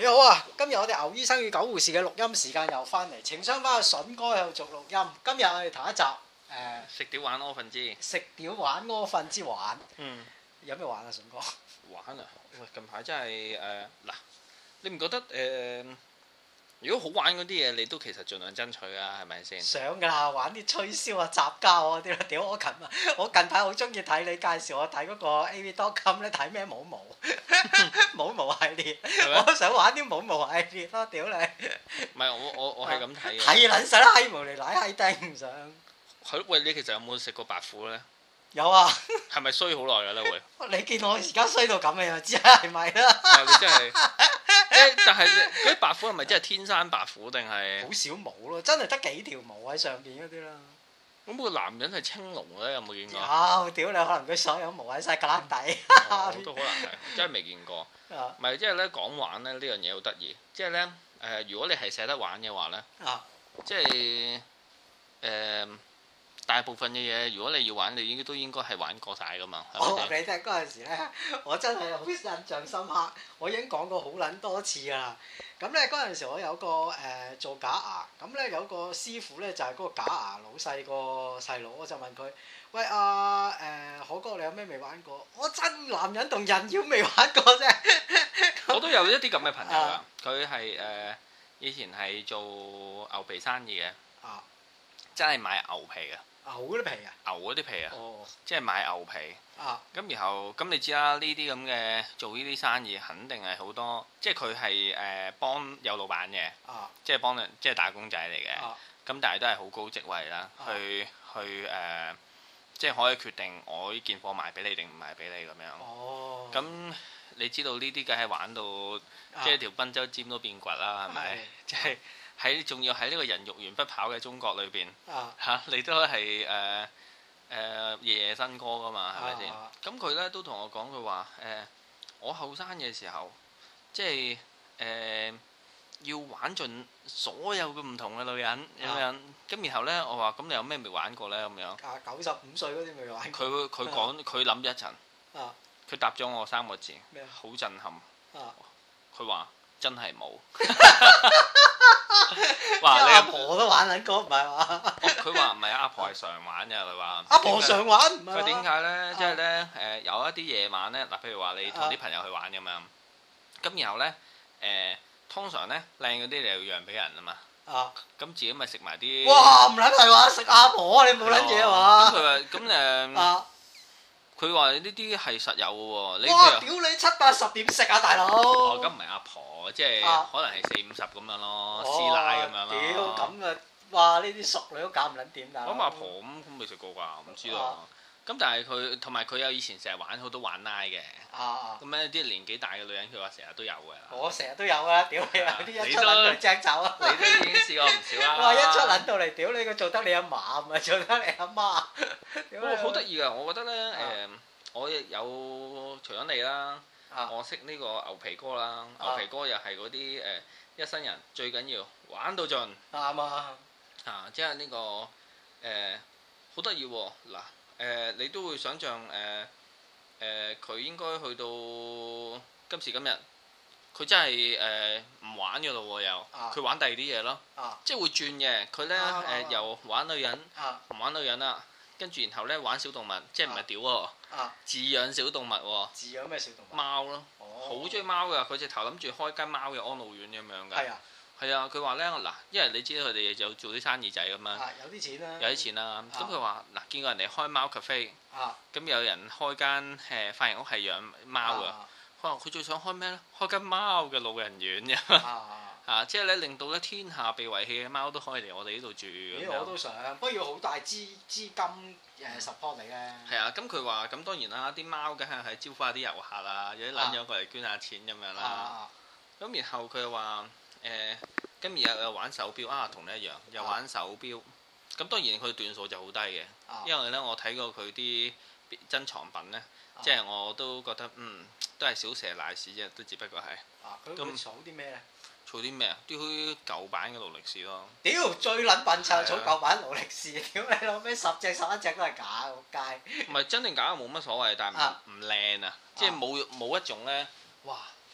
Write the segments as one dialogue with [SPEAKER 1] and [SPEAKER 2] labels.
[SPEAKER 1] 好啊！今日我哋牛醫生與狗護士嘅錄音時間又翻嚟，情商翻阿筍哥喺度做錄音。今日我哋頭一集
[SPEAKER 2] 食屌玩柯瞓之
[SPEAKER 1] 食屌玩柯瞓之玩。有咩玩啊，筍哥？
[SPEAKER 2] 玩啊！喂，近排真係嗱，你唔覺得如果好玩嗰啲嘢，你都其實盡量爭取啊，係咪先？
[SPEAKER 1] 想㗎啦，玩啲吹簫啊、雜交啊啲啦。屌我近排好中意睇你介紹我睇嗰個 AV.com 咧，睇咩冇毛冇毛系列，我都想玩啲冇毛系列咯。屌你！
[SPEAKER 2] 唔係我係咁睇嘅。
[SPEAKER 1] 係撚實啦，閪毛嚟奶閪釘唔上。係
[SPEAKER 2] 喂，你其實有冇食過白虎咧？
[SPEAKER 1] 有啊。
[SPEAKER 2] 係咪衰好耐㗎咧？會？
[SPEAKER 1] 你見我而家衰到咁，你就知係咪啦？
[SPEAKER 2] 你真係但係嗰啲白虎係咪真係天生白虎定係？好
[SPEAKER 1] 少毛咯，真係得幾條毛喺上邊嗰啲啦。
[SPEAKER 2] 咁個男人係青龍咧，有冇見過？
[SPEAKER 1] 有，屌你！可能佢所有毛喺晒格旯底。
[SPEAKER 2] 都可能係，真係未見過。唔係即係咧講玩咧呢樣嘢好得意，即係咧如果你係捨得玩嘅話咧，即係大部分嘅嘢，如果你要玩，你都應該係玩過晒噶嘛。
[SPEAKER 1] 我話俾你聽，嗰陣時咧，我真係好印象深刻。我已經講過好撚多次㗎啦。咁咧嗰陣時，我有個做假牙，咁咧有個師傅咧就係嗰個假牙老細個細佬，我就問佢：喂可哥，你有咩未玩過？我真男人同人妖未玩過啫。
[SPEAKER 2] 我都有一啲咁嘅朋友㗎，佢係以前係做牛皮生意嘅，真係買牛皮嘅。
[SPEAKER 1] 牛嗰啲皮啊！
[SPEAKER 2] 牛嗰啲皮啊！即係買牛皮。咁然後咁你知啦，呢啲咁嘅做呢啲生意，肯定係好多，即係佢係幫有老闆嘅，即係幫人，即係打工仔嚟嘅。咁但係都係好高職位啦，去即係可以決定我呢件貨賣俾你定唔賣俾你咁樣。咁你知道呢啲梗係玩到即係條賓州尖都變掘啦，係咪？即係仲要喺呢個人肉圓不跑嘅中國裏邊你都係夜夜新歌噶嘛，係咪先？咁佢咧都同我講，佢話我後生嘅時候，即係要玩盡所有嘅唔同嘅女人咁樣。咁然後咧，我話咁你有咩未玩過咧？咁樣
[SPEAKER 1] 95歲嗰啲未玩過。
[SPEAKER 2] 佢講，佢諗咗一陣，佢答咗我3個字，好震撼。佢話真係冇。
[SPEAKER 1] 話你阿婆都玩緊歌，唔係嘛？
[SPEAKER 2] 佢話唔係，阿婆係常玩嘅。佢話
[SPEAKER 1] 阿婆常玩，
[SPEAKER 2] 佢點解咧？即係咧有一啲夜晚咧，嗱，譬如話你同啲朋友去玩咁樣，咁然後咧通常咧靚嗰啲你要讓俾人啊嘛。咁自己咪食埋啲。哇！唔撚係話食阿婆，你冇撚嘢係嘛？咁佢話咁佢話呢啲係實有嘅喎。
[SPEAKER 1] 哇！屌你7-80點食啊，大佬！
[SPEAKER 2] 咁唔係阿婆，即係可能係40-50咁樣咯，師奶咁樣咯。
[SPEAKER 1] 屌咁啊！哇！呢啲熟女都搞唔撚掂㗎。
[SPEAKER 2] 咁阿婆咁未食過㗎，唔知道。咁但係佢同埋佢有以前成日玩好多玩奶嘅。咁咧啲年紀大嘅女人，佢話成日都有嘅。
[SPEAKER 1] 我成日都有啊！屌你啊！啲一出撚到隻走啊！
[SPEAKER 2] 你都已經試過唔少啦。
[SPEAKER 1] 哇！一出撚到嚟，屌你個做得你阿嫲，唔係做得你阿媽。
[SPEAKER 2] 好得意㗎！我覺得咧我有除咗你啦，我識呢個牛皮哥啦。牛皮哥又係嗰啲一生人最緊要玩到盡。啱啊！即係呢個好得意喎！嗱你都會想像佢應該去到今時今日，佢真係唔玩㗎咯喎又，佢玩第二啲嘢咯，即係會轉嘅。佢咧由玩女人唔玩女人啦，跟住然後咧玩小動物，即係唔係屌喎，飼養小動物喎。
[SPEAKER 1] 飼養咩小動物？貓
[SPEAKER 2] 咯，好中意貓㗎。佢直頭諗住開間貓嘅安老院咁樣㗎。係啊。係啊，佢話咧嗱，因為你知道佢哋有做啲生意仔咁樣，
[SPEAKER 1] 有啲錢啦，
[SPEAKER 2] 有啲錢啦。咁佢話嗱，見過人哋開貓 cafe，咁有人開間髮型屋係養貓㗎。佢話佢最想開咩咧？開間貓嘅老人院㗎。即係咧令到咧天下被遺棄嘅貓都可以嚟我哋呢度住。
[SPEAKER 1] 我都想，不過要好大資金support 你咧。係
[SPEAKER 2] 啊，咁佢話咁當然啦，啲貓梗係招呼下啲遊客啊，有啲撚咗過嚟捐下錢咁樣啦。咁然後佢話今日又玩手錶啊，同你一樣又玩手錶。咁當然佢段數就好低嘅，因為咧我睇過佢啲珍藏品咧，即係我都覺得都係小蛇賴屎啫，都只不過係。
[SPEAKER 1] 咁儲啲咩咧？
[SPEAKER 2] 儲啲咩啊？啲舊版嘅勞力士咯。
[SPEAKER 1] 屌最撚笨柒，儲舊版勞力士，屌你老味10隻11隻都係假，仆街。
[SPEAKER 2] 唔係真定假冇乜所謂，但係唔靚啊，即係冇一種咧，哇！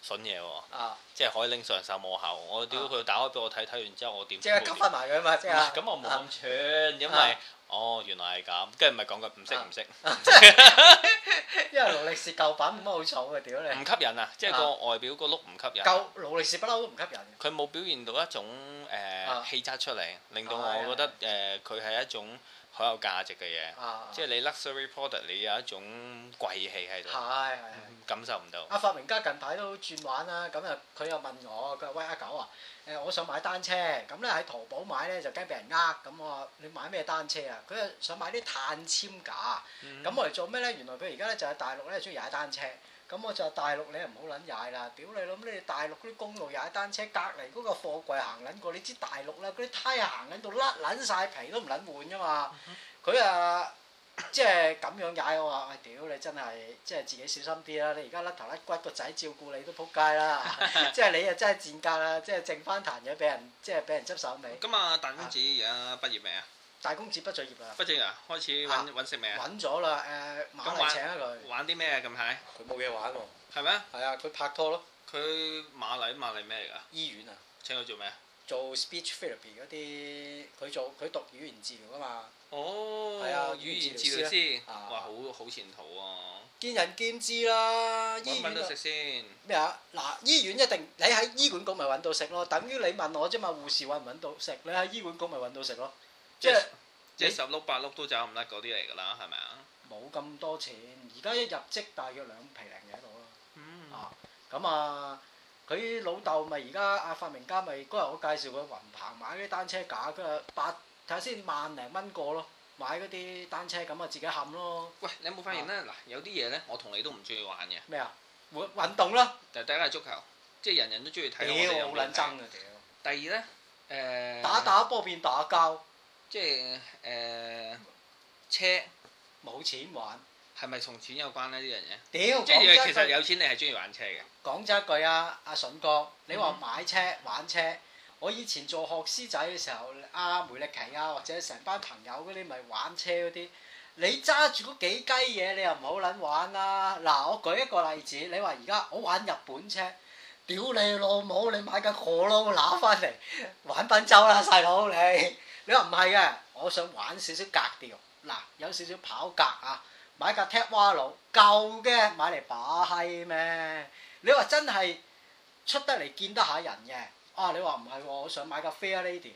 [SPEAKER 2] 筍嘢喎，即係可以拎上手摸下喎。我屌佢打開俾我睇，睇完之後我點？
[SPEAKER 1] 即係吸翻埋佢嘛，即係。
[SPEAKER 2] 咁我冇咁串，因為原來係咁，跟住咪講佢唔識。
[SPEAKER 1] 因為勞力士舊版冇乜好嘈嘅，屌你！唔
[SPEAKER 2] 吸引啊，即係個外表個 look 唔吸引。
[SPEAKER 1] 勞力士不嬲都唔吸引。
[SPEAKER 2] 佢冇表現到一種氣質出嚟，令到我覺得佢係一種好有價值嘅嘢。即係你 luxury product，你有一種貴氣喺度。係。感受唔到。阿發明家近排都轉玩啦，咁啊佢又問我，佢話喂阿狗啊，我想買單車，咁咧喺淘寶買咧就驚俾人呃，咁我話你買咩單車啊？佢又想買啲碳纖架，咁我嚟做咩咧？原來佢而家咧就喺大陸咧中意踩單車，咁我就話大陸你又唔好撚踩啦，屌你諗你哋大陸嗰啲公路踩單車，隔離嗰個貨櫃行撚過，你知大陸啦，嗰啲胎行撚到甩撚晒皮都唔撚換噶嘛，佢即係咁樣踩我話，喂屌你真係即係自己小心啲啦！你而家甩頭甩骨個仔照顧你都撲街啦，即係你啊真係賤格啦！即係剩翻壇嘢俾人執手尾。咁啊大公子而家畢業未啊？大公子畢咗業啦。畢咗業啊？開始揾食未啊？揾咗啦馬麗請啊佢。玩啲咩啊近排？佢冇嘢玩喎。係咩？係啊，佢拍拖咯。佢馬麗咩嚟㗎？醫院啊。請佢做咩啊？做 speech therapy 嗰啲，佢讀語言治療㗎嘛。哦，係啊，語言治療師，哇，好前途啊！見仁見智啦，醫院揾到食先咩啊？嗱，醫院一定你喺醫管局咪揾到食咯，等於你問我啫嘛，護士揾唔揾到食？你喺醫管局咪揾到食咯，即係十碌八碌都走唔甩嗰啲嚟㗎啦，係咪啊？冇咁多錢，而家一入職大約2皮零嘢度咯。咁啊，佢老豆咪而家阿發明家咪嗰日我介紹佢雲棚買啲單車架，佢話睇下先萬零蚊個咯，買嗰啲單車咁啊自己冚咯。喂，你有冇發現咧？嗱，有啲嘢咧，我同你都唔中意玩嘅。咩啊？運動咯。第一係足球，即係人人都中意睇。屌，好撚憎啊！屌。第二咧，打波變打交，即係車冇錢玩，係咪同錢有關呢？呢樣嘢？屌，即係其實有錢你係中意玩車嘅。講咗一句啊，阿筍哥，你話買車玩車。我以前做學師仔嘅時候，梅力奇啊，或者成班朋友嗰啲咪玩車嗰啲，你揸住嗰幾雞嘢，你又唔好撚玩啦。嗱，我舉一個例子，你話而家我玩日本車，屌你老母，你買架貨撈拿翻嚟玩賓州啦，細佬你。你話唔係嘅，我想玩少少格調，嗱有少少跑格啊，買架 Tiguan 舊嘅買嚟把閪咩？你話真係出得嚟見得下人嘅。你話唔係喎，我想買架 Fair Lady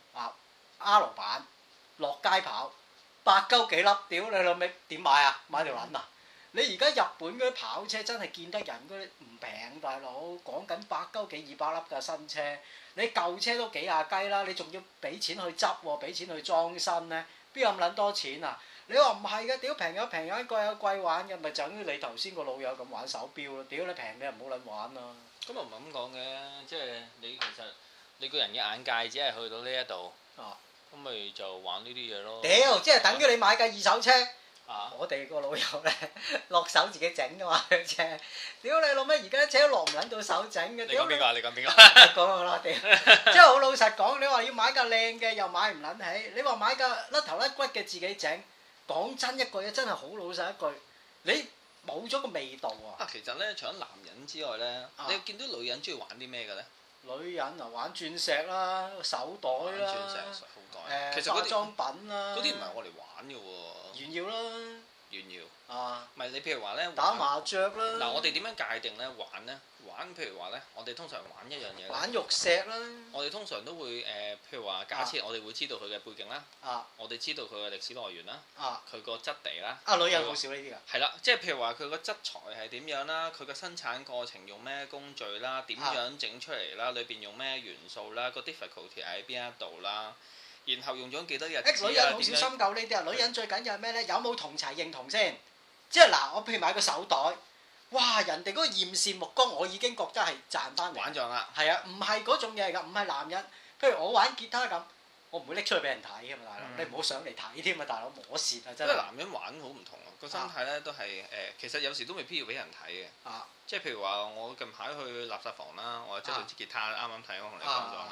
[SPEAKER 2] R 版落街跑8鳩幾粒，屌你老味點買啊？買條撚啊！你而家日本嗰啲跑車真係見得人嗰啲唔平，大佬講緊8鳩幾200粒嘅新車，你舊車都幾廿雞啦，你仲要俾錢去執喎，俾錢去裝新咧，邊有咁撚多錢啊？你話唔係嘅，屌平有平玩，貴有貴玩嘅，咪就等於你頭先個老友咁玩手錶咯，屌你平你又唔好撚玩啊！咁又唔係咁講嘅，即係你其實你個人嘅眼界只係去到呢一度，咁咪就玩呢啲嘢咯。屌，即係等於你買架二手車，我哋個老友咧落手自己整㗎嘛架車，屌你老咩？而家車都落唔撚到手整嘅。你講邊個啊？你講邊個？講我啦，屌！即係好老實講，你話要買架靚嘅又買唔撚起，你話買架甩頭甩骨嘅自己整，講真一句嘢真係好老實一句，你。冇咗個味道啊！其實咧，除咗男人之外咧，你見到女人中意玩啲咩嘅咧？女人啊，玩鑽石啦、手袋啦、手袋，其實化妝品啦，嗰啲唔係我嚟玩嘅喎。炫耀啦，炫耀唔係你譬如話咧，打麻雀啦。嗱，我哋點樣界定咧玩咧？玩譬如話咧，我哋通常玩一樣嘢。玩玉石啦。我哋通常都會譬如話假設我哋會知道佢嘅背景啦。我哋知道佢嘅歷史來源啦。佢個質地啦。女人好少呢啲㗎。係啦，即係譬如話佢個質材係點樣啦，佢個生產過程用咩工序啦，點樣整出嚟啦，裏邊用咩元素啦，個 difficulty 喺邊一度啦，然後用咗幾多日子啊？女人好少深究呢啲啊！女人最緊要係咩咧？有冇同儕認同先？即係嗱，我譬如買個手袋。哇！人哋嗰個艷羨目光，我已經覺得係賺翻嚟。玩咗啦。係啊，唔係嗰種嘢嚟㗎，唔係男人。譬如我玩吉他咁，我唔會拎出去俾人睇㗎嘛，大佬。你唔好上嚟睇添啊，大佬摸蝕啊真係。因為男人玩好唔同啊，個心態咧都係其實有時都未必要俾人睇嘅。即係譬如話，我近排去垃圾房啦，我執到支吉他，啱啱睇我同你講咗啦。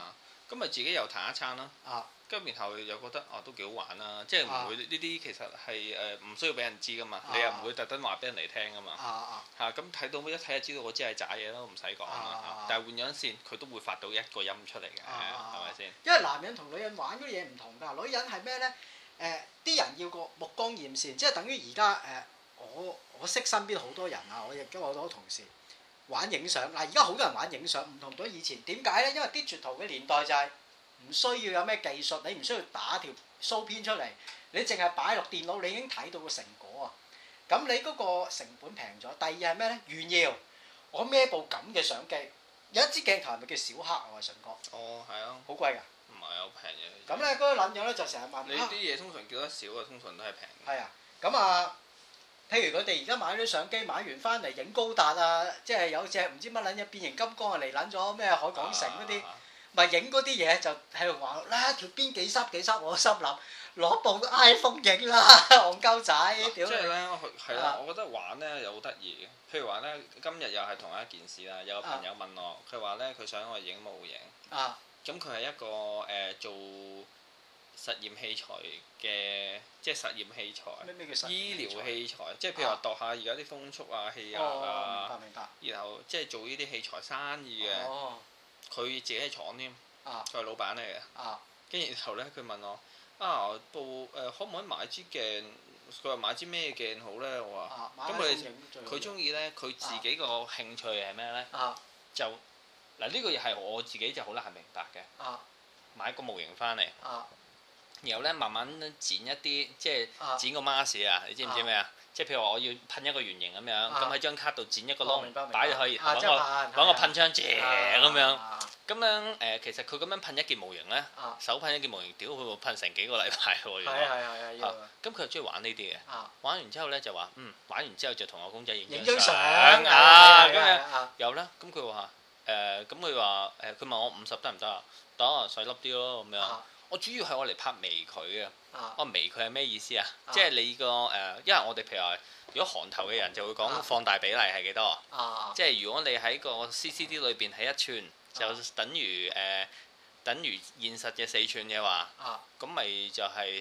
[SPEAKER 2] 咁咪自己又彈一餐啦。跟住然後又覺得都幾好玩啦，即係唔會呢啲其實係唔需要俾人知噶嘛，你又唔會特登話俾人嚟聽噶嘛。咁睇到一睇就知道我知係渣嘢咯，唔使講啦。但係換咗線，佢都會發到一個音出嚟嘅，係咪先？
[SPEAKER 1] 因為男人同女人玩嗰啲嘢唔同㗎，女人係咩咧？啲人要個目光豔線，即係等於而家我識身邊好多人啊，我亦都有好多同事玩影相。嗱，而家好多人玩影相，唔同咗以前。點解咧？因為digital嘅年代就係唔需要有咩技術，你唔需要打條騷片出嚟，你淨係擺落電腦，你已經睇到個成果啊！咁你嗰個成本平咗。第二係咩咧？炫耀，我孭部咁嘅相機，有一支鏡頭係咪叫小黑啊？我係順哥。
[SPEAKER 2] 哦，係啊。
[SPEAKER 1] 好貴㗎。
[SPEAKER 2] 唔係好平嘅。
[SPEAKER 1] 咁咧嗰個撚樣咧就成日問。
[SPEAKER 2] 你啲嘢通常叫得少啊，通常都係平。
[SPEAKER 1] 係啊，咁啊，譬如佢哋而家買啲相機，買完翻嚟影高達啊，即係有隻唔知乜撚嘢變形金剛啊嚟撚咗咩海港城嗰啲。咪影嗰啲嘢就喺度話啦，條邊幾濕幾濕，我心諗攞部 iPhone 影啦，戇鳩仔，屌！即
[SPEAKER 2] 係咧，係啦，我覺得玩咧又好得意嘅。譬如話咧，今日又係同一件事啦。有個朋友問我，佢話咧佢想我影模型。咁佢係一個做實驗器材嘅，即係實驗器材。
[SPEAKER 1] 咩叫實驗器材？
[SPEAKER 2] 醫療器材，即係譬如話度下而家啲風速啊、氣壓啊。
[SPEAKER 1] 明白。
[SPEAKER 2] 然後即係做呢啲器材生意嘅。佢自己係廠添，佢係老闆嚟嘅。跟住然後咧，佢問我可唔可以買支鏡？佢話買支咩鏡好咧？我話咁佢中意咧，佢自己個興趣係咩咧？就嗱呢個又係我自己就好難明白嘅。買個模型翻嚟，然後咧慢慢剪一啲，即係剪個 mask 啊！你知唔知咩啊？即係譬如話我要噴一個圓形咁樣，咁喺張卡度剪一個窿，擺入去，揾個噴槍咁樣。咁樣其實佢咁樣噴一件模型咧，手噴一件模型，屌佢會噴成幾個禮拜喎。
[SPEAKER 1] 係
[SPEAKER 2] 咁佢又中意玩呢啲嘅，玩完之後咧就話玩完之後就同我公仔影
[SPEAKER 1] 張相
[SPEAKER 2] 咁樣有啦。咁佢話佢問我50得唔得啊？得，細粒啲咯咁樣。我主要係我嚟拍微距啊！微距係咩意思啊？即係你個因為我哋譬如話，如果韓頭嘅人就會講放大比例係幾多？即係如果你喺個 CCD 裏邊係1寸，就等於現實嘅4寸嘅話，咁咪就係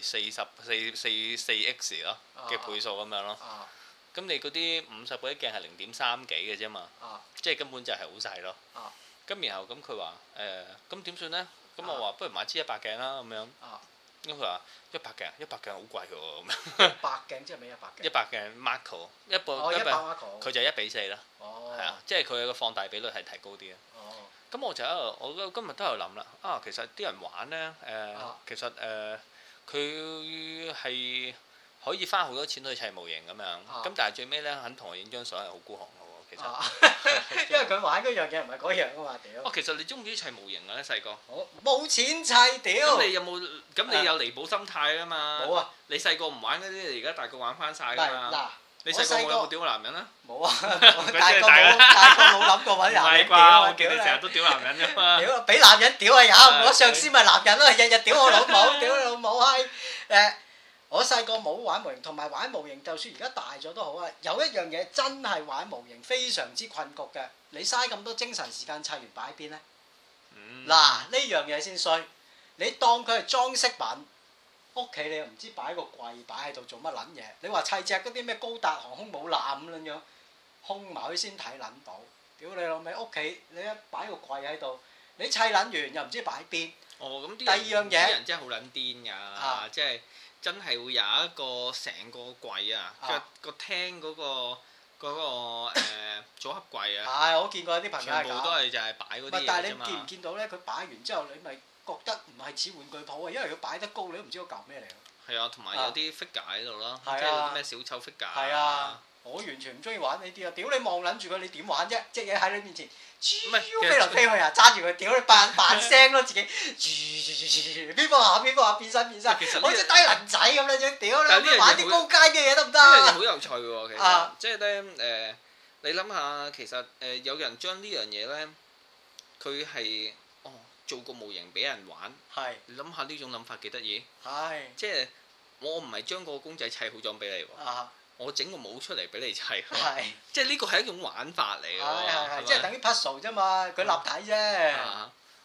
[SPEAKER 2] 4X 咯嘅倍數咁樣咯。咁你嗰啲50嗰啲鏡係0.3幾嘅啫嘛，即係根本就係好細咯。咁然後咁佢話咁點算咧？咁我話不如買支100鏡啦咁樣。咁佢話100鏡好貴喎咁樣。
[SPEAKER 1] 100鏡即係咩100鏡
[SPEAKER 2] ？100鏡 macro 佢就1:4啦。係啊，即係佢個放大比率係提高啲啊。咁我就我今日都有諗啦。其實啲人玩咧其實佢係可以花好多錢去砌模型咁樣。咁但係最尾咧肯同我影張相係好孤寒嘅喎。其實
[SPEAKER 1] 因為佢玩嗰樣嘢唔係嗰樣啊嘛，屌！
[SPEAKER 2] 其實你中唔中意砌模型啊？咧細個？
[SPEAKER 1] 冇錢砌屌！
[SPEAKER 2] 咁你有冇？咁你有彌補心態啊嘛？
[SPEAKER 1] 冇啊！
[SPEAKER 2] 你細個唔玩嗰啲，你而家大個玩翻晒㗎嘛？嗱，你細個有冇屌過男人啊？
[SPEAKER 1] 冇啊！大個冇諗過揾男人屌。
[SPEAKER 2] 我見你成日都屌男人㗎嘛？
[SPEAKER 1] 屌！俾男人屌啊有！我上司咪男人咯，日日屌我老母，屌你老母閪！我細個冇玩模型，同埋玩模型，就算而家大咗都好啊。有一樣嘢真係玩模型非常之困局嘅，你嘥咁多精神時間砌完擺喺邊咧？嗱，呢樣嘢先衰。你當佢係裝飾品，屋企你又唔知擺個櫃擺喺度做乜撚嘢？你話砌隻嗰啲咩高達航空母艦咁樣，空埋佢先睇撚到。屌你老味，屋企你一擺個櫃喺度，你砌撚完又唔知擺邊。
[SPEAKER 2] 咁
[SPEAKER 1] 第二樣嘢，
[SPEAKER 2] 啲人真係好撚癲㗎，即係。真係會有一個成個櫃啊，個廳嗰個組合櫃啊。
[SPEAKER 1] 我見過有啲朋友係咁。
[SPEAKER 2] 全部都係就係擺嗰啲嘢啫嘛。
[SPEAKER 1] 但係你見唔見到咧？佢擺完之後，你咪覺得唔係似玩具鋪啊，因為佢擺得高，你都唔知嗰嚿咩嚟咯。係
[SPEAKER 2] 啊，同埋有啲 figure 喺度咯，即係啲咩小丑 figure。
[SPEAKER 1] 係啊，我完全唔中意玩呢啲啊！屌你望撚住佢，你點玩啫？隻嘢喺你面前，飛嚟飛去啊！揸住佢，屌你扮聲咯自己，邊個下變身，好似低能仔咁樣樣，屌你玩啲高階嘅嘢得唔得？
[SPEAKER 2] 呢樣嘢好有趣喎，其實，即係咧你諗下，其實有人將呢樣嘢咧，佢係做個模型俾人玩，你諗下呢種諗法幾得意？即係我唔係將個公仔砌好咗俾你喎。我整個模出嚟俾你砌，即係呢個係一種玩法嚟嘅，
[SPEAKER 1] 即係等於 puzzle 啫嘛，佢立體啫。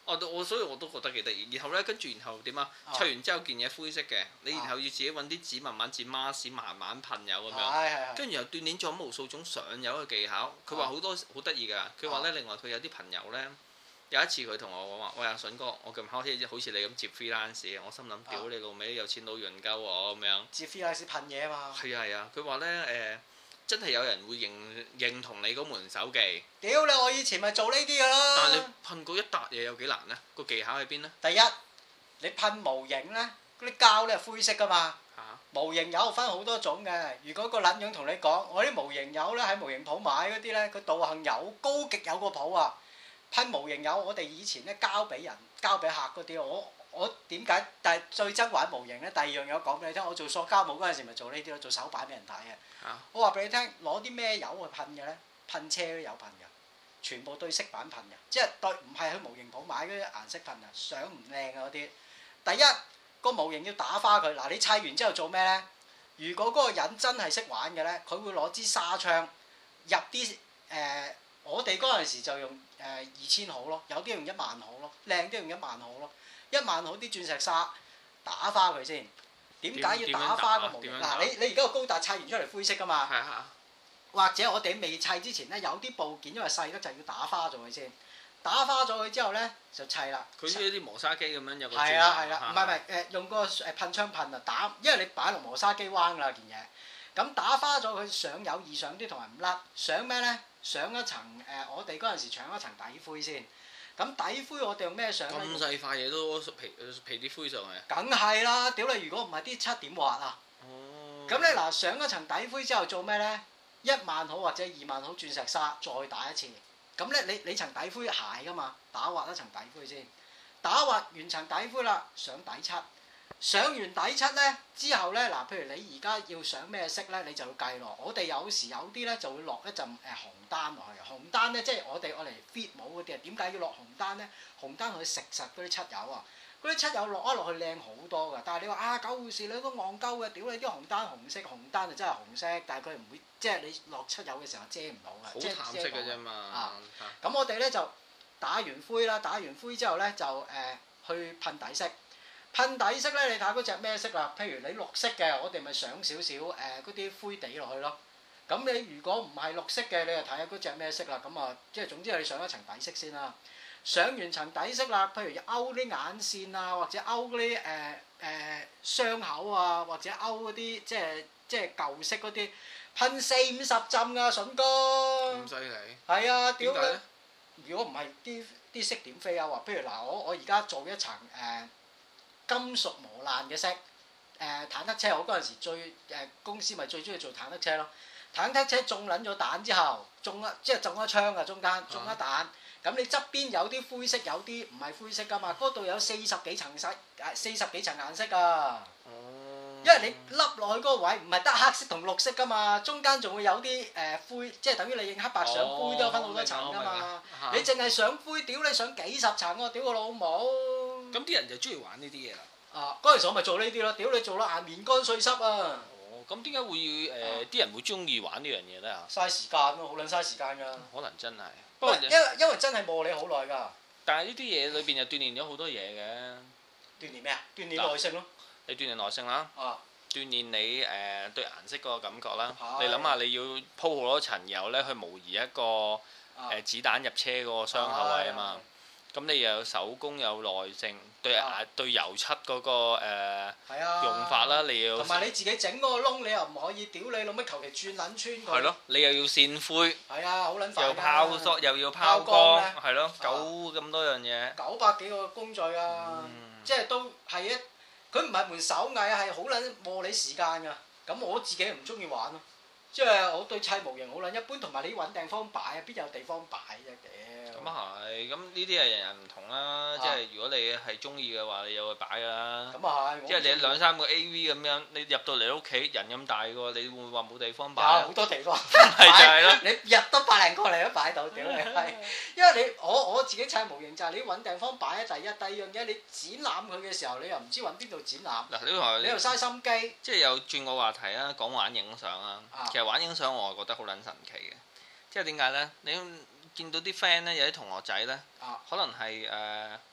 [SPEAKER 2] 所以我都覺得幾得意。然後咧，跟住然後點啊？砌完之後件嘢灰色嘅，你然後要自己揾啲紙慢慢剪 mask，慢慢噴油咁樣。跟住又鍛鍊咗無數種上油嘅技巧。佢話好多好得意㗎。佢話咧，另外佢有啲朋友咧，有一次佢同我講話：喂，阿筍哥，我近排好似你咁接 freelance，我心諗屌你老味，有錢佬潤鳩我咁樣。接
[SPEAKER 1] freelance 噴嘢啊嘛。係
[SPEAKER 2] 啊，佢話咧真係有人會認同你嗰門手技。
[SPEAKER 1] 屌你！我以前咪做呢啲㗎啦。
[SPEAKER 2] 但係你噴過一笪嘢有幾難呢？個技巧喺邊呢？
[SPEAKER 1] 第一，你噴模型呢，嗰啲膠呢係灰色㗎嘛。模型油分好多種嘅。如果個撚樣同你講，我啲模型油呢喺模型鋪買嗰啲呢，佢道行有高極有個譜啊。噴模型油，我哋以前呢交俾人、交俾客嗰啲，我點解？但係最憎玩模型呢。第二樣嘢我講俾你聽，我做塑膠模嗰陣時咪做呢啲咯，做手板俾人睇嘅。我話俾你聽，攞啲咩油去噴嘅呢？噴車都有噴㗎，全部對色板噴㗎，即係對唔係去模型鋪買嗰啲顏色噴啊，相唔靚啊嗰啲。第一個模型要打花佢，嗱你砌完之後做咩呢？如果嗰個人真係識玩嘅呢，佢會攞支紗槍入啲我哋嗰陣時就用2000毫咯，有啲用10000毫咯，靚啲用10000毫咯，10000毫啲鑽石紗打花佢先。點解要打花個模型？嗱，你而家個高達砌完出嚟灰色㗎嘛？或者我哋未砌之前咧，有啲部件因為細得就要打花咗佢先。打花咗佢之後咧，就砌啦。佢似啲磨砂機咁樣有個。係啦，唔係用個噴槍噴啊打，因為你擺落磨砂機彎㗎啦件嘢。咁打花咗佢上有易上啲同埋唔甩，上咩咧？上一層我哋嗰陣時搶一層底灰先。咁底灰我哋用咩上咧？咁細塊嘢都皮啲灰上去啊！梗係啦，屌你！如果唔係啲漆點滑啊？哦。咁咧嗱，上一層底灰之後做咩咧？10000毫或者20000毫鑽石紗再打一次。咁咧你層底灰鞋㗎嘛？打滑一層底灰先，打滑完層底灰啦，上底漆。上完底漆咧之後咧嗱，譬如你而家要上咩色咧，你就要計落。我哋有時有啲咧就會落一陣紅丹落去。紅丹咧即係我哋愛嚟 fit 帽嗰啲啊。點解要落紅丹咧？紅丹可以食實嗰啲漆油啊。嗰啲漆油落一落去靚好多㗎。但係你話啊，狗護士你都戇鳩嘅，屌你啲紅丹紅色，紅丹就真係紅色，但係佢唔會即係你落漆油嘅時候遮唔到㗎。好淡色嘅啫嘛。咁我哋咧就打完灰啦，打完灰之後咧就去噴底色。噴底色咧，你睇下嗰隻咩色啦？譬如你綠色嘅，我哋咪上少少嗰啲灰地落去咯。咁你如果唔係綠色嘅，你就睇下嗰隻咩色啦。咁啊，即係總之你上一層底色先啦。上完層底色啦，譬如勾啲眼線啊，或者勾嗰啲傷口啊，或者勾嗰啲即係舊色嗰啲，噴40-50浸㗎，筍哥。咁犀利？係啊，屌佢！如果唔係啲色點飛啊？話譬如嗱，我而家做一層金屬磨爛嘅色，坦克車我嗰陣時公司咪最中意做坦克車咯。坦克車中撚咗彈之後，中一槍啊，中間中一彈，咁你側邊有啲灰色，有啲唔係灰色㗎嘛。嗰度有40幾層顏色㗎。因為你凹落去嗰個位唔係得黑色同綠色㗎嘛，中間仲會有啲灰，即係等於你影黑白相灰都有分好多層㗎嘛。你淨係上灰，屌你上幾十層喎，屌個老母！咁啲人就中意玩呢啲嘢啦。嗰陣時我咪做呢啲咯，屌你做到眼面乾碎濕啊！哦，咁點解會啲人會中意玩呢樣嘢咧？嘥時間咯，好撚嘥時間㗎。可能真係。不過因為真係磨你好耐㗎。但係呢啲嘢裏邊又鍛鍊咗好多嘢嘅。鍛鍊咩啊？鍛鍊耐性咯。你鍛鍊耐性啦。鍛鍊你對顏色嗰個感覺啦。你諗下，你要鋪好多層油咧，去模擬一個子彈入車嗰個傷口位啊嘛。咁你又有手工有耐性，對油漆嗰個用法啦，你要同埋你自己整嗰個窿，你又唔可以屌你老乜求其轉撚穿佢。係咯，你又要線灰。係啊，好撚煩㗎。又拋塑，又要拋光，係咯，咁多樣嘢。900幾個工序啊，即係都係佢唔係門手藝啊，係好撚磨你時間㗎。咁我自己唔中意玩咯，即係我對砌模型好撚一般，同埋你揾地方擺啊，邊有地方擺啫屌！咁啊係，咁呢啲係人人唔同啦。即係如果你係中意嘅話，你有去擺㗎啦。咁啊係，即係你2-3個 AV 咁樣，你入到嚟屋企人咁大個，你會唔會話冇地方擺？有好多地方。係就係咯，你入得百零個你都擺到，屌你係！因為你我自己砌模型就係你揾地方擺啊，第一，第二樣嘢你展覽佢嘅時候，你又唔知揾邊度展覽。嗱，你又嘥心機。即係又轉個話題啊，講玩影相啊。其實玩影相我係覺得好撚神奇嘅，即係點解咧？你見到啲 friend 咧，有啲同學仔咧，可能係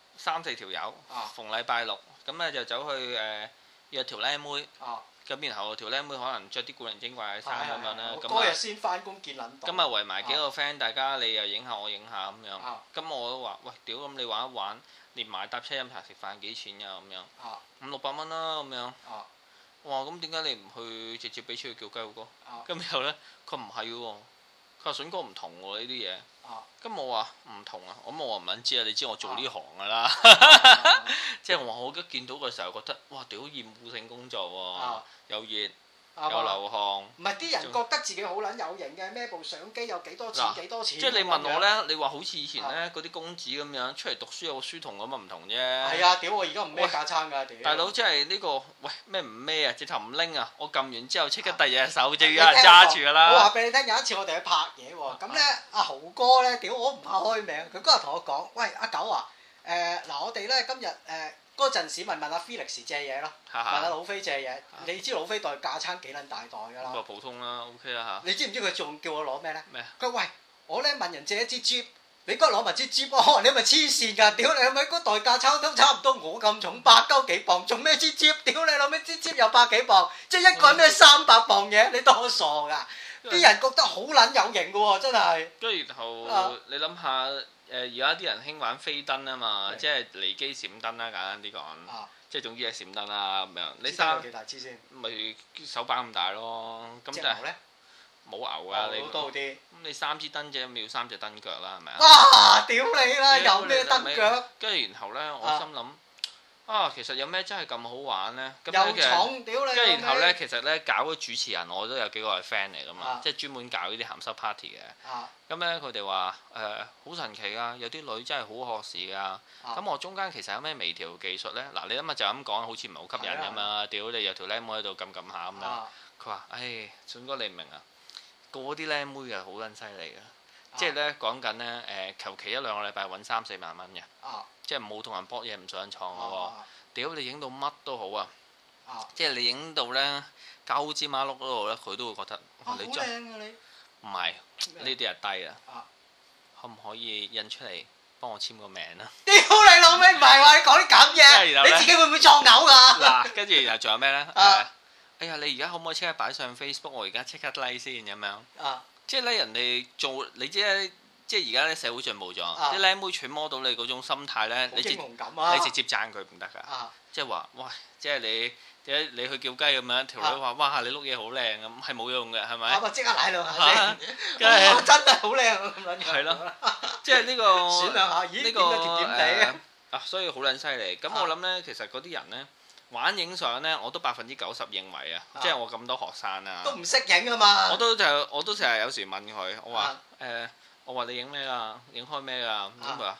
[SPEAKER 2] 3-4條友，逢禮拜六咁咧就走去約條靚妹。咁然後條靚妹可能着啲古靈精怪嘅衫咁樣啦。
[SPEAKER 1] 嗰日先翻工見撚到。咁
[SPEAKER 2] 啊圍埋幾個 friend，大家你又影下我影下咁樣。咁我都話：喂，屌咁你玩一玩，連埋搭車飲茶食飯幾錢㗎咁樣？500-600蚊啦咁樣。哇！咁點解你唔去直接俾錢去叫雞好哥？咁然後咧，佢唔係喎，佢話筍哥唔同喎呢啲嘢。咁我話唔同啊，咁我話唔撚知啊，你知我做呢行㗎啦。即係我話我一見到嘅時候覺得，哇！屌厭惡性工作喎，又熱。有流汗，
[SPEAKER 1] 唔係啲人覺得自己好撚有型嘅，孭部相機有幾多錢幾多錢。
[SPEAKER 2] 即係你問我咧，你話好似以前咧嗰啲公子咁樣出嚟讀書有個書童咁啊唔同啫。
[SPEAKER 1] 係啊，屌我而家唔孭架撐㗎，屌！
[SPEAKER 2] 大佬即係呢個，喂咩唔孭啊？直頭唔拎啊！我撳完之後即刻第二隻手就有人揸住㗎啦。
[SPEAKER 1] 我話俾你聽，有一次我哋去拍嘢喎，咁咧阿豪哥咧，屌我唔怕開名，佢嗰日同我講：喂阿九啊，嗱我哋咧今日嗰陣時問阿 Felix 借嘢咯，問阿老飛借嘢，你知老飛袋架撐幾撚大袋㗎啦？
[SPEAKER 2] 咁普通啦 ，OK 啦嚇。
[SPEAKER 1] 你知唔知佢仲叫我攞咩咧？
[SPEAKER 2] 咩？
[SPEAKER 1] 佢喂我咧問人借一支 Jeep，你嗰日攞埋支 Jeep，我話你咪黐線㗎，屌你係咪嗰袋架撐都差唔多我咁重，100幾磅，仲咩支 Jeep？屌你攞咩支 Jeep 又100幾磅，即係一個人咩300磅嘢，你當我傻㗎？啲人覺得好撚有型㗎喎，真係。跟住
[SPEAKER 2] 然後你諗下而家啲人興玩飛燈啊嘛，即係離機閃燈啦，簡單啲講。即係總之係閃燈啦咁樣。你
[SPEAKER 1] 有幾大支先？
[SPEAKER 2] 咪手板咁大咯。咁
[SPEAKER 1] 隻牛咧？
[SPEAKER 2] 冇牛㗎，你
[SPEAKER 1] 多啲。咁
[SPEAKER 2] 你3支燈啫，咪要3隻燈腳啦，係咪啊？
[SPEAKER 1] 哇！屌你啦，有咩燈腳？
[SPEAKER 2] 跟住然後咧，我心諗。其實有咩真係咁好玩呢？
[SPEAKER 1] 又重，屌你！
[SPEAKER 2] 跟住然後呢，其實呢，搞嗰主持人我都有幾個係 friend 嚟噶嘛，即係專門搞呢啲鹹濕 party 嘅。咁呢，佢哋話好神奇㗎，有啲女真係好學士㗎。咁我中間其實有咩微調技術呢？嗱，你諗下就咁講，好似唔係好吸引㗎嘛。屌你有條靚妹喺度撳下咁樣。佢話：筍哥你唔明啊，嗰啲靚妹係好撚犀利㗎。即係呢，講緊呢，求其1-2個禮拜揾3-4萬蚊嘅。即係冇同人搏嘢唔上床嘅喎，屌你影到乜都好啊！即係你影到咧鳩枝馬碌嗰度咧，佢都會覺得你
[SPEAKER 1] 好靚啊你！
[SPEAKER 2] 唔係呢啲係低啊！可唔可以印出嚟幫我簽個名啊？
[SPEAKER 1] 屌你老味，唔係話你講啲咁嘢，你自己會唔會作嘔㗎？
[SPEAKER 2] 嗱，跟住然後仲有咩咧？哎呀，你而家可唔可以即刻擺上 Facebook？我而家即刻 like 先咁樣。即係咧，人哋做你知咧。即係而家咧社會進步咗，啲靚妹揣摩到你嗰種心態咧，你直接讚佢唔得㗎，即係話，喂，即係你去叫雞咁樣，條女話，哇，你碌嘢好靚咁，係冇用嘅，係咪？
[SPEAKER 1] 即刻舐兩下先，真係好靚咁樣。
[SPEAKER 2] 係咯，即係呢個
[SPEAKER 1] 選兩下，咦？呢個甜甜地
[SPEAKER 2] 所以好撚犀利。咁我諗咧，其實嗰啲人咧玩影相咧，我都90%認為啊，即係我咁多學生啊，
[SPEAKER 1] 都唔識影啊嘛。
[SPEAKER 2] 我都成日有時問佢，我話我話你影咩㗎？影開咩㗎？咁佢話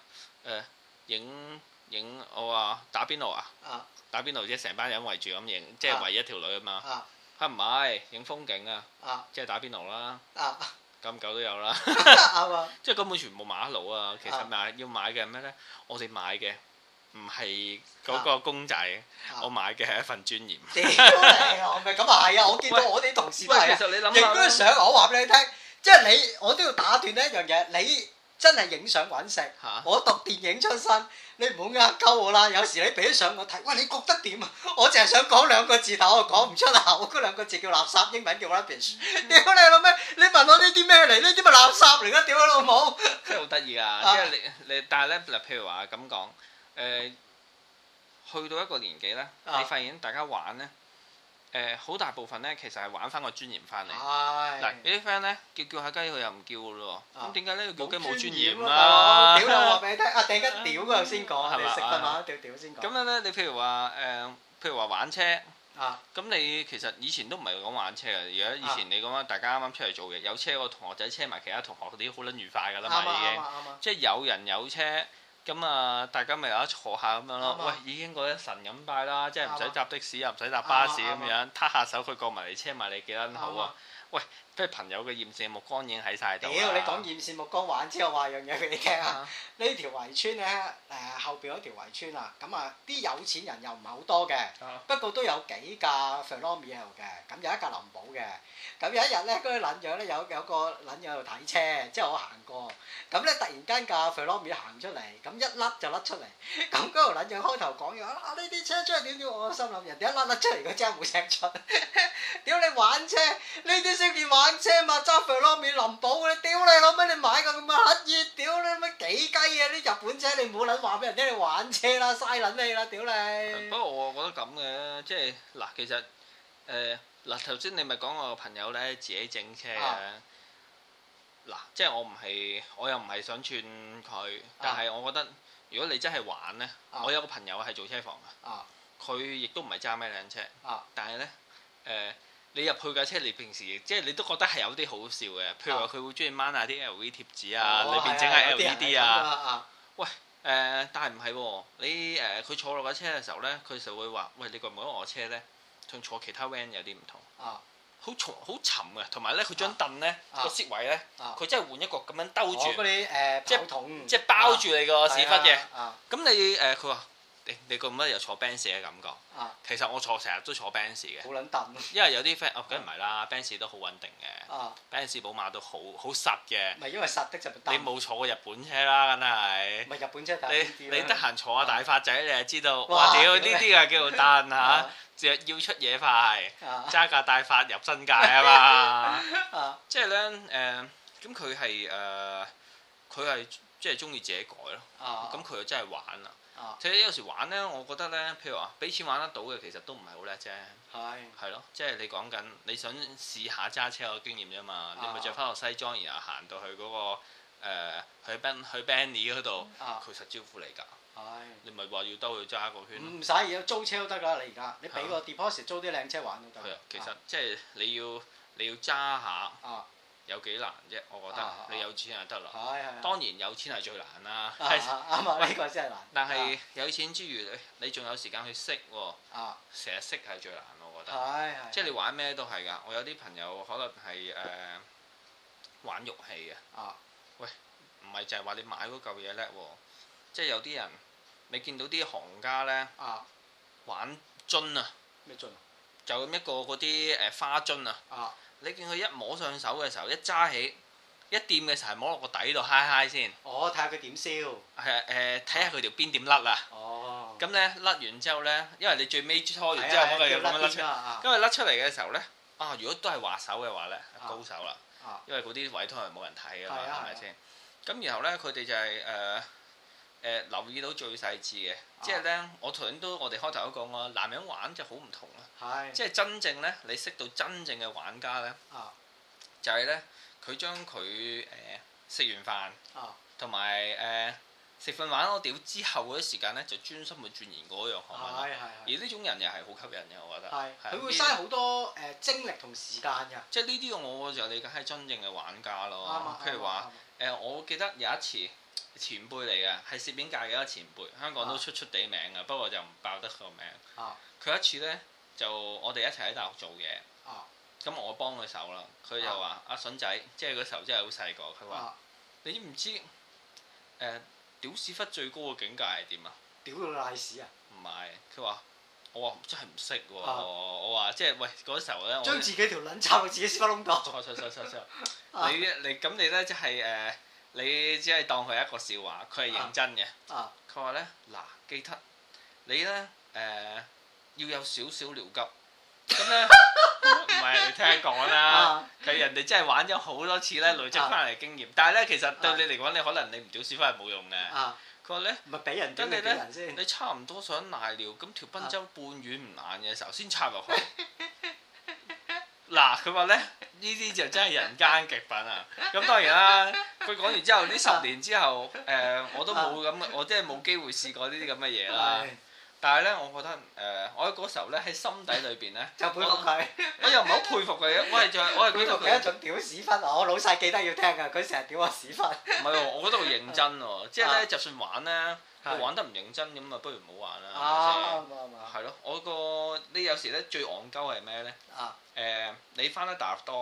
[SPEAKER 2] 影我話打邊爐啊！打邊爐即係成班人圍住咁影，即係圍一條女啊嘛。唔係影風景啊！即係打邊爐啦。咁久都有啦。即係根本全部馬路啊！其實要買嘅係咩咧？我哋買嘅唔係嗰個公仔，我買嘅係一份尊嚴。
[SPEAKER 1] 屌你！我咪咁啊係啊！我見到我啲同事都係影嗰啲相，我話俾你聽。即係你，我都要打斷呢一樣嘢。你真係影相揾食，我讀電影出身，你唔好呃鳩我啦。有時你俾啲相我睇，喂，你覺得點啊？我淨係想講2個字，但我講唔出口。嗰2個字叫垃圾，英文叫 rubbish。屌你老味！你問我呢啲咩嚟？呢啲咪垃圾嚟㗎？屌你老母！
[SPEAKER 2] 真係好得意㗎，即係你，但係咧嗱，譬如話咁講，去到一個年紀咧，你發現大家玩咧。好大部分咧，其實係玩翻個尊嚴翻嚟。嗱，有啲 friend 咧叫下雞，佢又唔叫嘅咯喎。咁點解呢個叫雞冇尊嚴啦？
[SPEAKER 1] 屌你話俾你聽，突然間屌嗰度先講，你食飯話屌先講。
[SPEAKER 2] 咁樣咧，你譬如話玩車，咁你其實以前都唔係講玩車嘅，而家以前你講大家啱啱出嚟做嘢，有車個同學仔車埋其他同學嗰啲好撚愉快㗎啦嘛，已經。即係有人有車。咁啊，大家咪有得坐下咁樣咯。喂，已經覺得神咁拜啦，即係唔使搭的士，又唔使搭巴士咁樣，撻下手佢過埋嚟車埋你幾撚好啊！喂， 即係朋友嘅艷羨目光已經喺晒度。
[SPEAKER 1] 屌，你講艷羨目光玩之後，話樣嘢俾你聽啊！呢條圍村咧，後邊嗰條圍村啊，咁啊啲有錢人又唔係好多嘅，不過都有幾架 Ferrari 喺度嘅，咁有一架林寶嘅。咁有一日咧，嗰個撚樣咧有個撚樣喺度睇車，即係我行過，咁咧突然間架 Ferrari 行出嚟，咁一甩就甩出嚟，咁嗰條撚樣開頭講嘢啊呢啲車出嚟點點，我心諗人哋一甩出嚟，佢真係冇聲出，屌你玩車呢啲先叫玩車嘛，揸 Ferrari 林寶嘅，屌你老味你買個咁嘅乞兒，屌你乜幾雞啊啲日本車，你唔好撚話俾人聽你玩車啦，嘥撚你啦，屌你！
[SPEAKER 2] 不過我覺得咁嘅，即係嗱，其實嗱頭先你咪講我個朋友咧自己整車嘅，嗱即係我又唔係想串佢，但係我覺得如果你真係玩咧，我有個朋友係做車房嘅，佢亦都唔係揸咩靚車，但係咧你入去架車，你平時即係你都覺得係有啲好笑嘅，譬如話佢會中意掹下啲 LV 貼紙啊，裏邊整下 LED 啊，喂但係唔係喎，你佢坐落架車嘅時候咧，佢就會話：喂，你覺唔覺得我車咧同坐其他 van 有啲唔同？好重好沉嘅，同埋咧佢張凳咧個飾位咧，佢真係換一個咁樣兜住，
[SPEAKER 1] 嗰啲
[SPEAKER 2] 即係包住你個屎忽嘅。咁你佢話你覺唔覺得有坐 Benz 嘅感覺？其實我成日都坐 Benz 嘅。好撚凳。因為有啲 friend，梗唔係啦，Benz 都好穩定嘅。Benz 寶馬都好實嘅。唔係因為實的就你冇坐過日本車啦，梗係。唔係日本車，你得閒坐下大發仔，你就知道。哇！屌呢啲啊叫做凳嚇，要出嘢快，揸架大發入新界啊嘛。即係咧咁佢係即係中意自己改咯。咁佢又真係玩啦。其實有時玩咧，我覺得咧，譬如話俾錢玩得到嘅，其實都唔係好叻啫。係咯，即係你講緊你想試下揸車個經驗啫嘛。你咪着翻個西裝，然後行到去嗰個去 Benny 嗰度，佢實招呼你㗎。你咪話要兜去揸個圈。唔使，而家租車都得㗎。你而家你俾個 deposit 租啲靚車玩都得。係啊，其實即係你要揸下。有幾難啫？我覺得你有錢就得啦。當然有錢係最難啦。啱啊！呢個真係難。但係有錢之餘，你仲有時間去識喎。成日識係最難，我覺得。即係你玩咩都係㗎。我有啲朋友可能係玩玉器嘅。喂，唔係就係話你買嗰嚿嘢叻喎。即係有啲人，你見到啲行家咧玩樽啊。咩樽啊？就咁一個嗰啲花樽啊。你見佢一摸上手嘅時候，一揸起一掂嘅時候，摸落個底度嗨嗨先。睇下佢點燒。係睇下佢條邊點甩啊。咁咧甩完之後咧，因為你最尾搓完之後，嗰個嘢咁樣甩出。因為甩出嚟嘅時候咧，如果都係滑手嘅話咧，高手啦。因為嗰啲位都係冇人睇㗎嘛，係咪先？咁然後咧，佢哋就係留意到最細緻嘅，即係咧，我頭先我哋開頭都講過，男人玩就好唔同啦。即係真正咧，你識到真正嘅玩家咧，就係咧，佢將佢食完飯，同埋食飯玩我屌之後嗰啲時間咧，就專心去鑽研嗰樣學問。而呢種人又係好吸引嘅，我覺得。佢會嘥好多精力同時間㗎。即係呢啲我就理解係真正嘅玩家咯。譬如話我記得有一次。前輩嚟嘅，係攝影界嘅一個前輩，香港都出地名嘅，不過就唔爆得個名。佢一次呢，就我哋一齊喺大學做嘢，咁我幫佢手啦。佢就話：阿筍仔，即係嗰時候真係好細個。佢話：你知唔知屌屎忽最高嘅境界係點啊？屌到賴屎啊！唔係，佢話：我話真係唔識喎。我話即係喂嗰時候呢，將自己條撚插到自己屎忽窿度。錯。你咁你呢，即係你只係當佢係一個笑話，佢係認真嘅。佢話咧嗱，記得你咧要有少少尿急，咁咧唔係你聽講啦。佢人哋真係玩咗好多次咧，累積翻嚟經驗。但係咧，其實對你嚟講，你可能你唔屌屎忽係冇用嘅。佢話咧，唔係俾人跟你咧，你差唔多想瀨尿，咁條賓周半軟唔硬嘅時候先插入去。嗱，佢話咧呢啲就真係人間極品啊！咁當然啦，佢講完之後，呢10年之後，我都冇咁，我真係冇機會試過呢啲咁嘅嘢啦。但係咧，我覺得我喺嗰時候咧喺心底裏邊咧，就佩服佢。我又唔係好佩服佢嘅，我係佩服佢一種屌屎忽。我老細記得要聽㗎，佢成日屌我屎忽。唔係喎，我覺得佢認真喎，即係咧，就算玩咧，佢玩得唔認真咁啊，不如唔好玩啦。係咯，你有時咧最戇鳩係咩咧？你翻得大學多，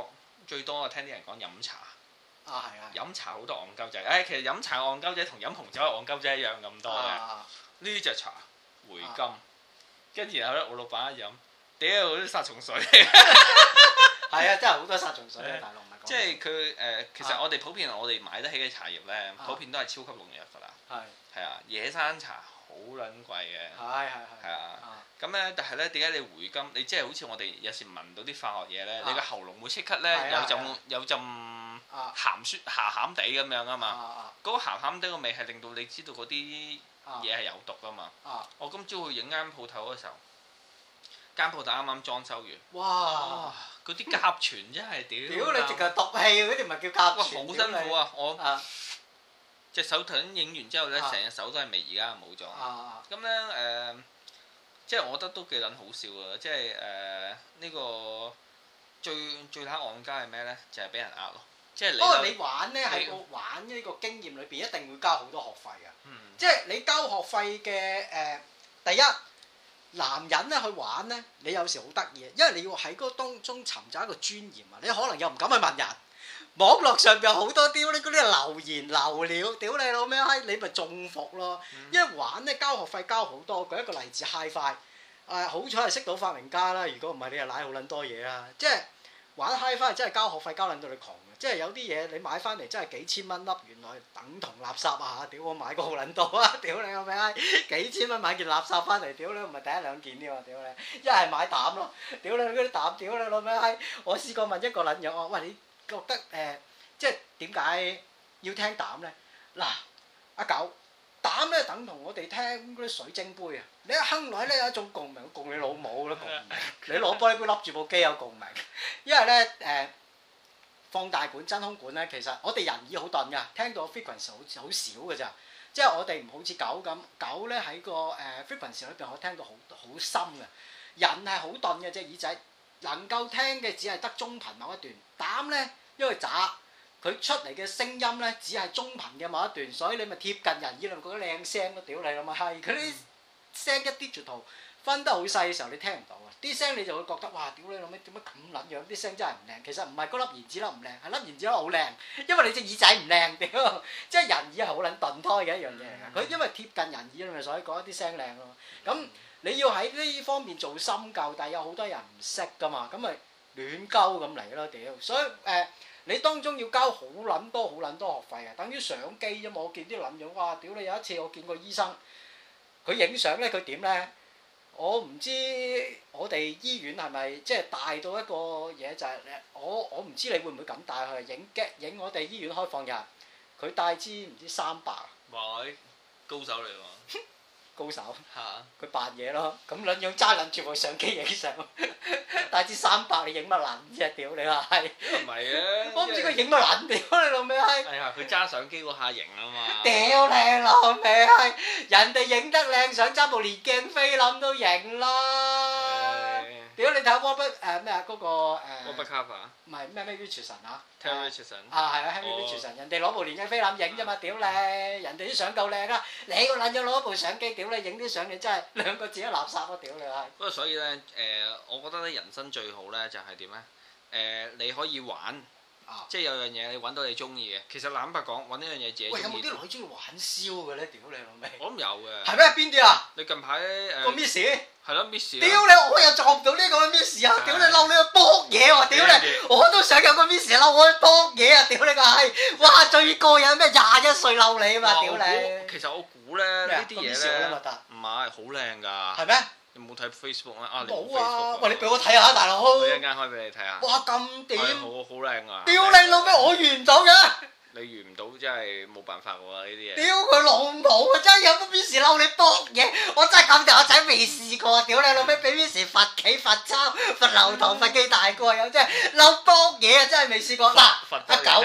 [SPEAKER 2] 最多聽啲人講飲茶。
[SPEAKER 1] 啊係啊！
[SPEAKER 2] 飲茶好多戇鳩仔，其實飲茶戇鳩仔同飲紅酒係戇鳩仔一樣咁多嘅。呢隻茶回甘，跟住然後咧我老闆一飲，屌嗰啲殺蟲水。
[SPEAKER 1] 係啊，真係好多殺蟲水啊！大陸唔係講。
[SPEAKER 2] 即係佢其實我哋普遍我哋買得起嘅茶葉咧，普遍都係超級農藥㗎啦。係啊，野生茶好撚貴嘅。係啊。咁咧，但係咧，點解你回甘？你即係好似我哋有時聞到啲化學嘢咧，你個喉嚨會即刻咧有陣鹹酸鹹地咁樣啊嘛。嗰個鹹地個味係令到你知道嗰啲嘢係有毒㗎嘛。我今朝去影間鋪頭嘅時候，間鋪頭啱啱裝修完。哇！嗰啲甲醛真係屌
[SPEAKER 1] 你直頭毒氣嗰啲，唔係叫甲醛。
[SPEAKER 2] 好辛苦啊！我隻手頭影完之後咧，成隻手都係味，而家冇咗。咁咧即係我覺得都幾撚好笑㗎，即係呢個最撚戇家係咩咧？就係俾人呃咯。即係你。不過你玩咧喺個玩呢個經驗裏邊，一定會交好多學費㗎。
[SPEAKER 1] 即係你交學費嘅第一，男人咧去玩咧，你有時好得意，因為你要喺嗰當中尋找一個尊嚴啊！你可能又唔敢去問人。網絡上邊有好多屌你嗰啲留言流料，屌你老咩閪，你咪中伏咯！因為玩咧交學費交好多，舉一個例子 HiFi， 好彩係識到發明家啦，如果唔係你又賴好撚多嘢啦。即係玩 HiFi 真係交學費交撚到你窮嘅，即係有啲嘢你買翻嚟真係幾千蚊粒，原來等同垃圾啊！屌我買過好撚多啊！屌你老咩閪，幾千蚊買件垃圾翻嚟，屌你唔係第一兩件添喎！屌你，一係買膽咯，屌你嗰啲膽，屌你老咩閪！我試過問一個撚樣，我話喂你。覺得即係點解要聽膽咧？嗱，阿狗膽咧等同我哋聽嗰啲水晶杯啊！你一哼落咧有一種共鳴，共你老母都共鳴。你攞玻璃杯笠住部機有共鳴，因為咧放大管、真空管咧，其實我哋人耳好鈍㗎，聽到 frequency 好少㗎咋。即係我哋唔好似狗咁，狗咧喺個frequency 裏邊可以聽到好深嘅。人係好鈍嘅隻耳仔。能夠聽嘅只係得中頻某一段，膽咧因為渣，佢出嚟嘅聲音咧只係中頻嘅某一段，所以你咪貼近人耳，你咪覺得靚聲咯，屌你老母閪！佢啲聲一啲digital分得好細嘅時候，你聽唔到啊！啲聲你就會覺得哇，屌你老味點解咁撚樣？啲聲真係唔靚，其實唔係嗰粒言子粒唔靚，係粒言子粒好靚，因為你隻耳仔唔靚，屌！即係人耳係好撚鈍胎嘅一樣嘢嚟㗎，佢因為貼近人耳咪所以講啲聲靚咯，咁。你要喺呢方面做深究，但係有好多人唔識㗎嘛，咁咪亂鳩咁嚟咯屌！所以你當中要交好撚多學費啊，等於相機啫嘛。我見啲撚樣，哇！屌你有一次我見過醫生，佢影相咧，佢點咧？我唔知我哋醫院係咪即係大到一個嘢就係我唔知你會唔會咁帶去影我哋醫院開放日，佢帶支唔知300。
[SPEAKER 2] 哇！高手嚟喎！
[SPEAKER 1] 高手，佢扮嘢咯，咁撚樣揸撚住部相機影相，帶支300你影乜撚啫？屌你話係？唔係啊！我唔知佢影乜撚，屌你老味閪！係啊，佢揸相機嗰下型啊嘛！屌你老味閪！人哋影得靚相揸部連鏡菲林都型啦！屌你睇 Robert 咩啊嗰個Robert Capa 唔係咩 Richardson 啊 Terry Richardson 啊係啊 Henry Richardson 人哋攞部連鏡菲林影啫嘛屌你人哋啲相夠靚啊你個撚咗攞部相機屌你影啲相你真係兩個字都垃圾啊屌你係不過所以咧我覺得咧人生最好咧就係點咧你可以玩即係有樣嘢你揾到你中意嘅其實坦白講揾呢樣嘢自己中意喂有冇啲女中意玩燒嘅咧屌你老味我諗有嘅係咩邊啲啊你近排個 Miss係咯 Miss 屌你我又撞唔到呢個 Miss 啊屌你嬲你去搏嘢喎屌你我都想有個 Miss 嬲我去搏嘢啊屌你個閪哇最過癮咩21歲嬲你啊嘛屌你其實我估咧呢啲嘢咧唔係好靚㗎係咩你冇睇 Facebook 咩啊冇啊喂你俾我睇下大佬我一陣間開俾你睇下哇咁點好靚啊屌你老味我遇唔到嘅你遇唔到真係冇辦法喎呢啲嘢。屌佢老母啊！真係有個 Miss 嬲你搏嘢，我真係咁大個仔未試過。屌你老味俾 Miss 罰企罰抄罰留堂罰記大過有真係嬲搏嘢啊！真係未試過。嗱阿狗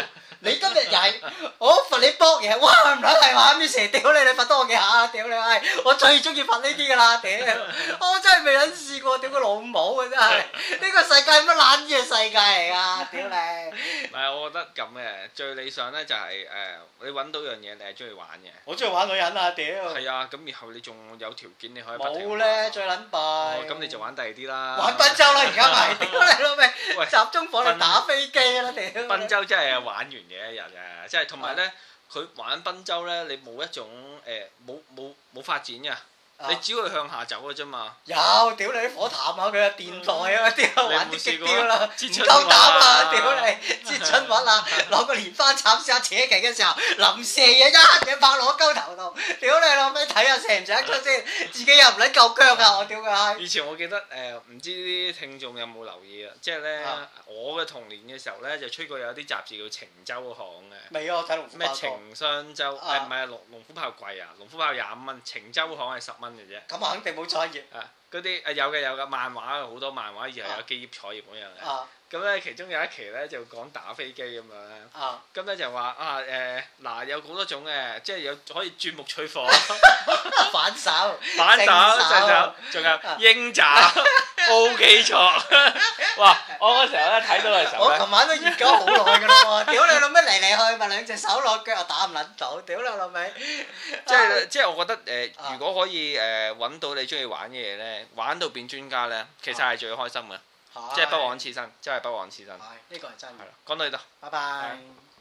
[SPEAKER 1] 你今日曳，我罰你搏嘢，哇唔撚係話咩蛇，屌你罰多我幾下，屌你係，我最中意罰呢啲㗎啦，屌！我真係未撚試過，屌個老母啊真係，呢個世界係乜撚嘢世界嚟㗎，屌你！
[SPEAKER 2] 唔係，我覺得咁嘅最理想咧就係你揾到樣嘢你係中意玩嘅。
[SPEAKER 1] 我中意玩女人啊，屌！
[SPEAKER 2] 係啊，咁然後你仲有條件你可以不停玩。
[SPEAKER 1] 冇咧，最撚弊。
[SPEAKER 2] 咁你就玩第二啲啦。
[SPEAKER 1] 玩賓州啦，而家咪屌你老味！集中火力打飛機啦，屌！
[SPEAKER 2] 賓州真係玩完嘅一日啊！即係同埋咧，佢玩賓州咧，你冇一種冇發展嘅。你只會向下走嘅啫嘛。有，
[SPEAKER 1] 屌你啲火炭啊！佢啊電台啊，啲玩啲激啲啦，唔夠膽啊！屌你，接春運啊！攞個蓮花插試下扯旗嘅時候，臨射嘢一嘢拍落個鳩頭度，屌你老味睇下射唔射得出先，自己又唔撚夠腳啊！我屌佢閪！
[SPEAKER 2] 以前我記得唔知啲聽眾有冇留意啊？即係咧，我嘅童年嘅時候咧，就吹過有啲雜誌叫情週刊嘅。
[SPEAKER 1] 未啊！我睇龍虎豹。
[SPEAKER 2] 咩情商週？唔係龍虎豹貴啊！龍虎豹25蚊，情週刊係10蚊嘅啫。
[SPEAKER 1] 咁啊，肯定冇創業。
[SPEAKER 2] 嗰啲有嘅，漫畫好多漫畫，而係有基業採業嗰樣嘅。咁咧，其中有一期咧就講打飛機咁樣咧。咁咧就話嗱有好多種嘅，即係有可以鑽木取火。
[SPEAKER 1] 反手。
[SPEAKER 2] 仲有鷹爪、O 基錯。哇！我嗰時候咧睇到嘅時候
[SPEAKER 1] 我琴晚都研究好耐㗎啦喎！屌你老味嚟嚟去咪兩隻手落腳又打唔撚到，屌你老味！
[SPEAKER 2] 即係我覺得如果可以揾到你中意玩嘅嘢咧，玩到變專家咧，其實係最開心嘅。即係不枉此生，真係不枉此生。
[SPEAKER 1] 係，呢個係真嘅。
[SPEAKER 2] 係啦，講到呢度。
[SPEAKER 1] 拜拜。